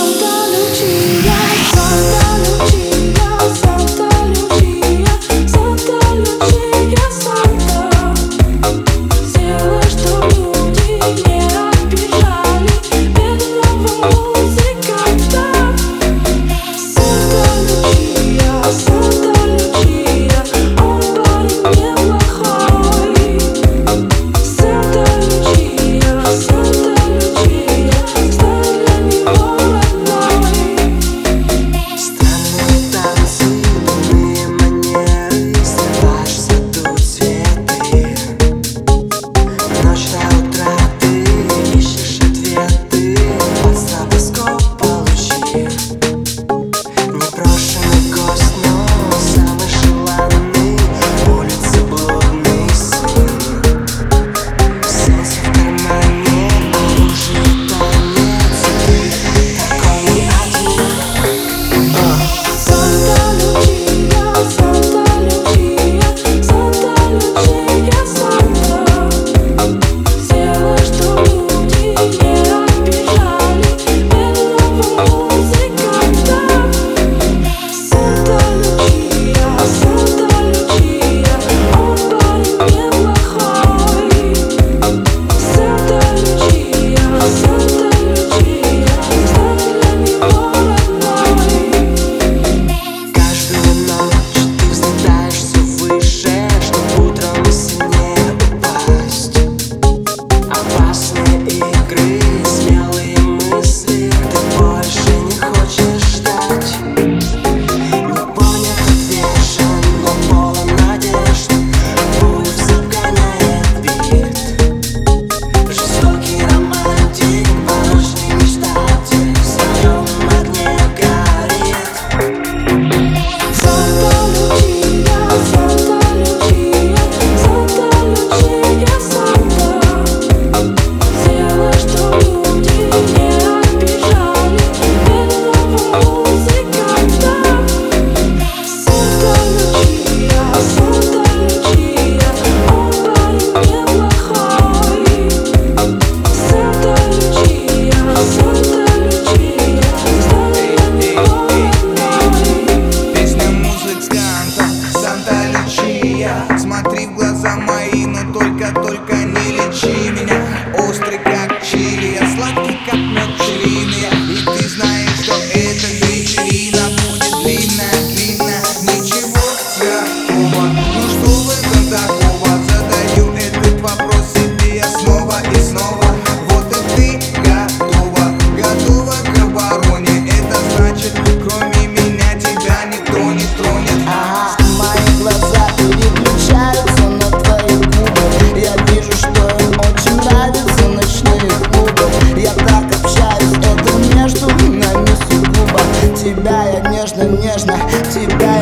Смотри в глаза мои, но только не лечи меня. Острый как чили, я сладкий как мед пчелиный. И ты знаешь, что эта вечерина будет длинная. Ничего такого, ну что в этом такого? Задаю этот вопрос себе я снова и снова. Вот и ты готова к обороне. Это значит, кроме меня тебя никто не тронет. Мои глаза переключаются на твои губы. Я вижу, что им очень нравятся ночные клубы. Я так общаюсь, это между нами сугубо. Тебя я нежно, тебя